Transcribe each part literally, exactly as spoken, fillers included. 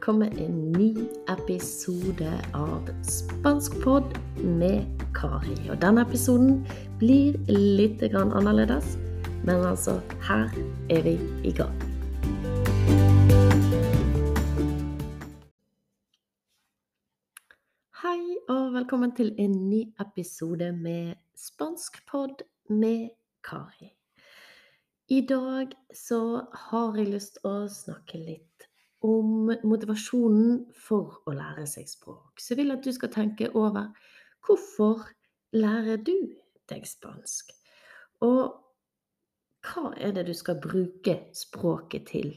kommer en ny episode av Spanskpod med Kari. Og denne episoden blir litt grann annerledes, men altså, her er vi i gang. Hei og velkommen til en ny episode med Spanskpod med Kari. I dag så har jeg lyst til å snakke litt om motivasjonen for å lære seg språk. Så jeg vil at du skal tenke over hvorfor lærer du deg spansk? Og hva er det du skal bruke språket til?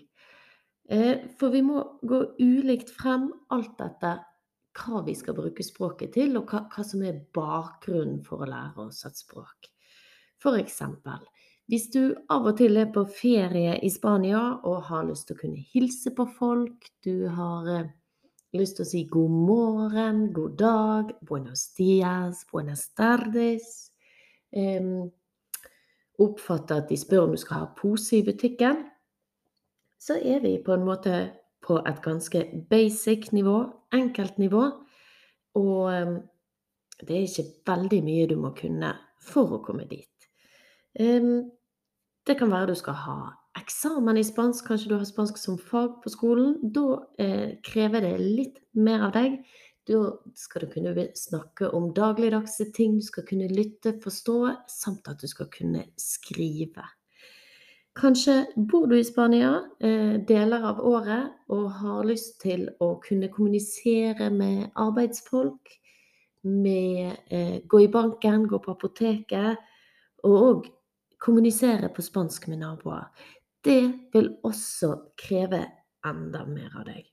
For vi må gå ulikt frem alt etter hva vi skal bruke språket til, og hva, hva som er bakgrunnen for å lære oss et språk. For eksempel, hvis du av og til er på ferie i Spania og har lyst til å kunne hilse på folk, du har eh, lyst til å si god morgen, god dag, buenos dias, buenas tardes, eh, oppfatter at de spør om du skal ha pose i butikken, så er vi på en måte på et ganske basic nivå, enkelt nivå, og eh, det er ikke veldig mye du må kunne for å komme dit. Um, Det kan være du skal ha eksamen i spansk, kanskje du har spansk som fag på skolen. Da eh, krever det litt mer av deg. Da skal du kunne snakke om dagligdagse ting, du skal kunne lytte, forstå, samt at du skal kunne skrive. Kanskje bor du i Spania eh, deler av året og har lyst til å kunne kommunisere med arbeidsfolk, med eh, gå i banken, gå på apoteket, og kommunisere på spansk med naboer. Det vil også kreve enda mer av deg.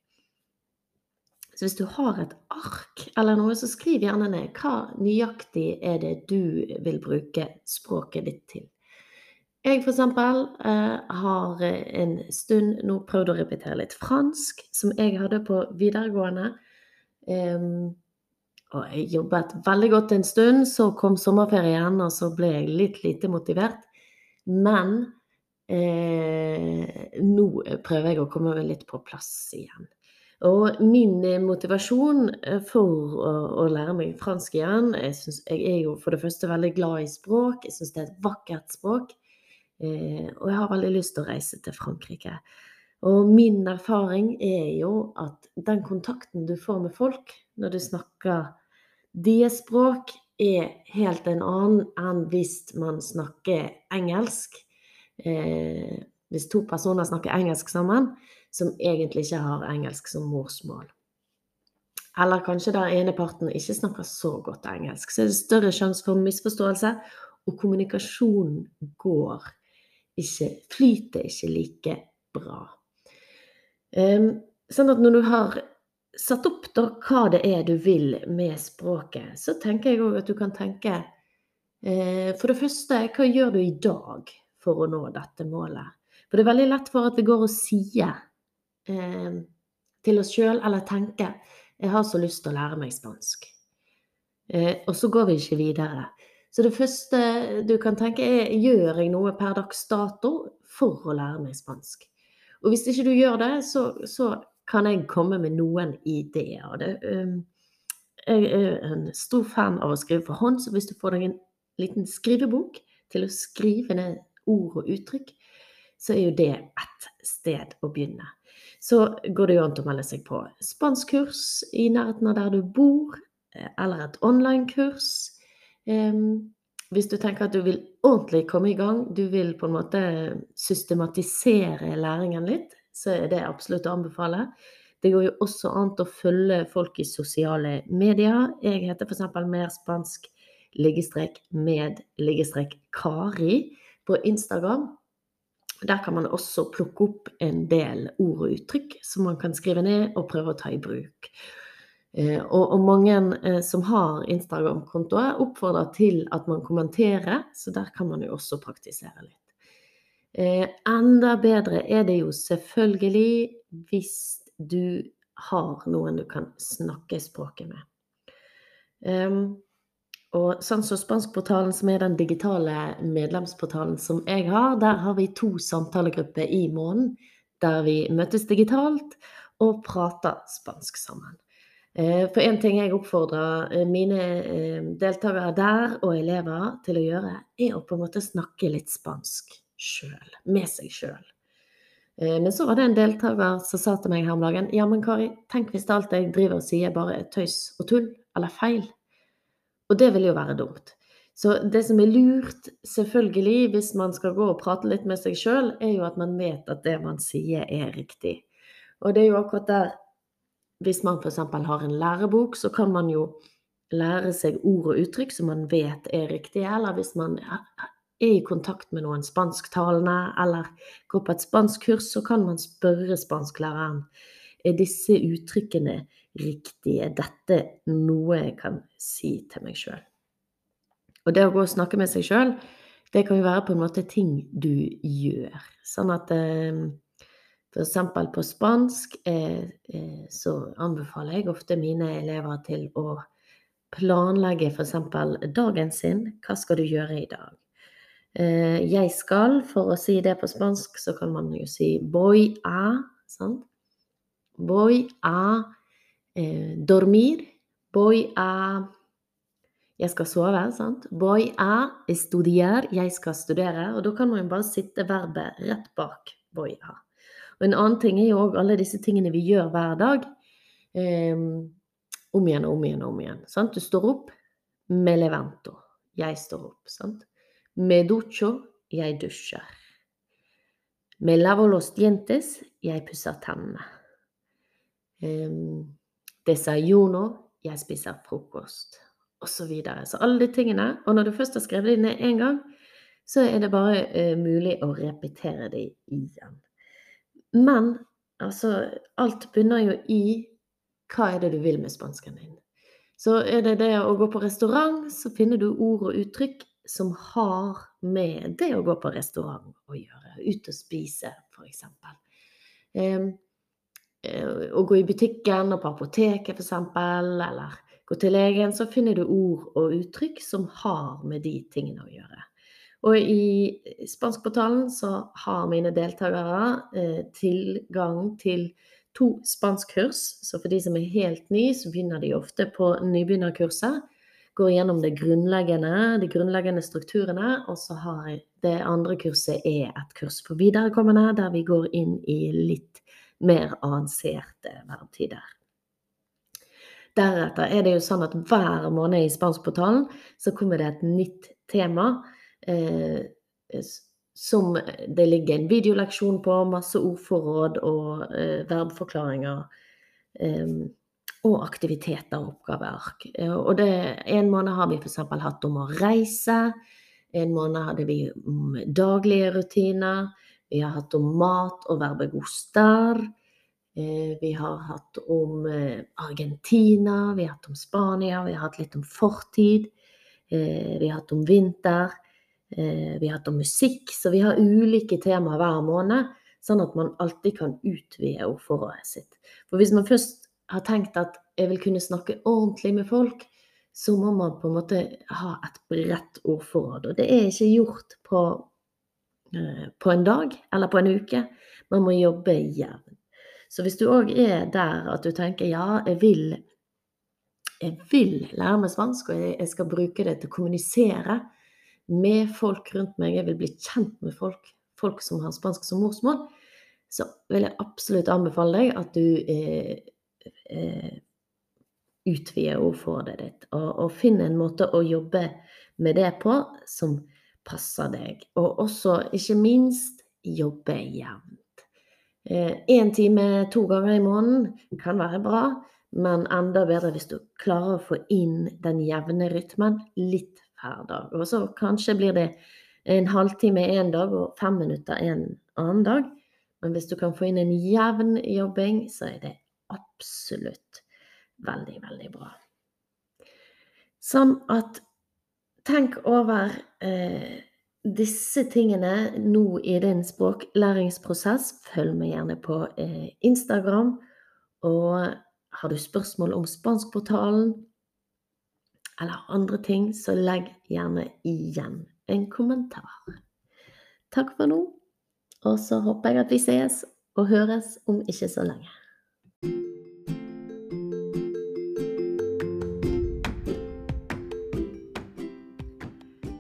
Så hvis du har et ark eller noe, så skriv gjerne ned hva nøyaktig er det du vil bruke språket ditt til. Jeg for eksempel eh, har en stund nå prøvd å repetere litt fransk, som jeg hadde på videregående. Um, og jeg jobbet veldig godt en stund, så kom sommerferien, og så ble jeg litt lite motivert. Men eh, nå prøver jeg å komme litt på plass igjen. Og min motivasjon for å, å lære meg fransk igjen, jeg, synes, jeg er jo for det første veldig glad i språk, jeg synes det er et vakkert språk, eh, og jeg har veldig lyst til å reise til Frankrike. Og min erfaring er jo at den kontakten du får med folk når du snakker deres språk, er helt en annen enn hvis man snakker engelsk. Eh, hvis to personer snakker engelsk sammen, som egentlig ikke har engelsk som morsmål. Eller kanskje der ene parten ikke snakker så godt engelsk, så er det større sjanse for misforståelse, og kommunikasjonen går ikke, flyter ikke like bra. Eh, sånn at når du har satt opp da hva det er du vil med språket, så tenker jeg også at du kan tenke, eh, for det første, hva gjør du i dag for å nå dette målet? For det er veldig lett for at vi går og sier eh, til oss selv, eller tenker, jeg har så lyst til å lære meg spansk. Eh, og så går vi ikke videre. Så det første du kan tenke er, gjør jeg noe per dags dato for å lære meg spansk? Og hvis ikke du gjør det, så, så kan jeg komme med noen ideer. Det, um, jeg er en stor fan av å skrive for hånd, så hvis du får deg en liten skrivebok til å skrive ned ord og uttrykk, så er jo det et sted å begynne. Så går det jo an til å melde seg på spanskkurs i nærheten av der du bor, eller et online-kurs. Um, hvis du tenker at du vil ordentlig komme i gang, du vil på en måte systematisere læringen litt, så er det absolutt å anbefale. Det går jo også an å følge folk i sosiale medier. Jeg heter for eksempel mer spansk liggestrek med liggestrek Kari på Instagram. Der kan man også plukke opp en del ord og uttrykk som man kan skrive ned og prøve å ta i bruk. Og, og mange eh, som har Instagram-kontoer oppfordrer til at man kommenterer, så der kan man jo også praktisere litt. Eh, enda bedre er det jo selvfølgelig hvis du har noen du kan snakke språket med. Um, og sånn som Spanskportalen, som er den digitale medlemsportalen som jeg har, der har vi to samtalegrupper i måneden, der vi møtes digitalt, og prater spansk sammen. Eh, For en ting jeg oppfordrer eh, mine eh, deltakere der og elever til å gjøre, er å på en måte snakke litt spansk selv, med seg selv. Eh, Men så var det en deltaker som sa til meg her om dagen, ja, men Kari, tenk hvis alt jeg driver og sier bare er tøys og tull, eller feil. Og det vil jo være dumt. Så det som er lurt, selvfølgelig, hvis man skal gå og prate litt med seg selv, er jo at man vet at det man sier er riktig. Og det er jo akkurat der, hvis man for eksempel har en lærebok, så kan man jo lære seg ord og uttrykk som man vet er riktige, eller hvis man er i kontakt med noen spansktalende, eller går på et spanskkurs, så kan man spørre spansklæreren, er disse uttrykkene riktige? Er dette noe jeg kan si til meg selv? Og det å gå og snakke med seg selv, det kan jo være på en måte ting du gjør. Sånn at eh, for eksempel på spansk eh, eh, så anbefaler jeg ofte mine elever til å planlegge for eksempel dagen sin. Hva skal du gjøre i dag? Eh, jeg skal, for å si det på spansk, så kan man jo si voy a, sant? Voy a eh, dormir, voy a, jeg skal sove, sant? Voy a estudiar, jeg skal studere, og da kan man jo bare sitte verbet rett bak voy a. Og en annen ting er jo også alle disse tingene vi gjør hver dag, eh, om igjen, om igjen, om igjen, sant? Du står opp, me levanto, jeg står opp, sant? Me ducho, jeg dusjer. Me lavo los dientes, jeg pusser tennene. Um, desayuno, jeg spiser frokost, og så videre. Så alle de tingene, og når du først har skrevet det ned en gang, så er det bare uh, mulig å repetere det igjen. Men, altså, alt begynner jo i hva er det du vil med spansken din. Så er det det å gå på restaurant, så finner du ord og uttrykk som har med det å gå på restaurant å gjøre. Ut og spise, for eksempel. Um, å gå i butikken og på apoteket, for eksempel, eller gå til legen, så finner du ord og uttrykk som har med de tingene å gjøre. Og i spanskportalen så har mine deltakere eh, tilgang til to spanskkurs, så for de som er helt ny, så begynner de ofte på nybegynnerkurset, går gjennom det grunnleggende, de grunnleggende strukturene, og så har det andre kurset er et kurs for viderekommende, der vi går inn i litt mer avanserte verbtider. Deretter er det jo sånn at hver måned i spanskportalen så kommer det et nytt tema, eh, som det ligger en videoleksjon på, masse ordforråd og eh, verbforklaringer, eh, og aktiviteter og oppgaveark. Og det, en måned har vi for eksempel hatt om å reise, en måned hadde vi om daglige rutiner, vi har hatt om mat og verbet gustar, vi har hatt om Argentina, vi har hatt om Spania, vi har hatt litt om fortid, vi har hatt om vinter, vi har hatt om musikk, så vi har ulike temaer hver måned, sånn at man alltid kan utvide ordforrådet sitt. For hvis man først har tenkt at jeg vil kunne snakke ordentlig med folk, så må man på en måte ha et bredt ordforråd, og det er ikke gjort på, på en dag eller på en uke, man må jobbe jevnt. Så hvis du også er der at du tenker, ja, jeg vil, jeg vil lære meg spansk, og jeg skal bruke det til å kommunisere med folk rundt meg, jeg vil bli kjent med folk, folk som har spansk som morsmål, så vil jeg absolutt anbefale deg at du eh, eh, utvider ordforrådet ditt, og, og finne en måte å jobbe med det på som passer deg, og også, ikke minst, jobbe jevnt. En time, to ganger i måneden kan være bra, men enda bedre hvis du klarer å få inn den jevne rytmen litt hver dag. Og så kanskje blir det en halvtime en dag og fem minutter en annen dag. Men hvis du kan få inn en jevn jobbing, så er det absolutt veldig, veldig bra. Sånn at tenk over eh, disse tingene nå i din språklæringsprosess. Følg meg gjerne på eh, Instagram, og har du spørsmål om spanskportalen eller andre ting, så legg gjerne igjen en kommentar. Takk for nå, og så håper jeg at vi ses og høres om ikke så lenge.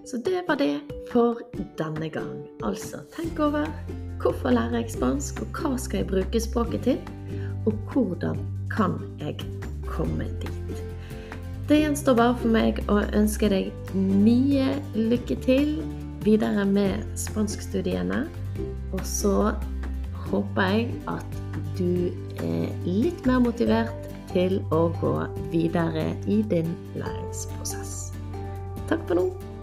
Så det var det for denne gang. Altså, tenk over hvorfor lærer jeg spansk, og hva skal jeg bruke språket til, og hvordan kan jeg komme dit. Det gjenstår bare for meg å ønske deg mye lykke til videre med spanskstudiene, og så håper jeg at du er litt mer motivert til å gå videre i din læringsprosess. Takk for nå!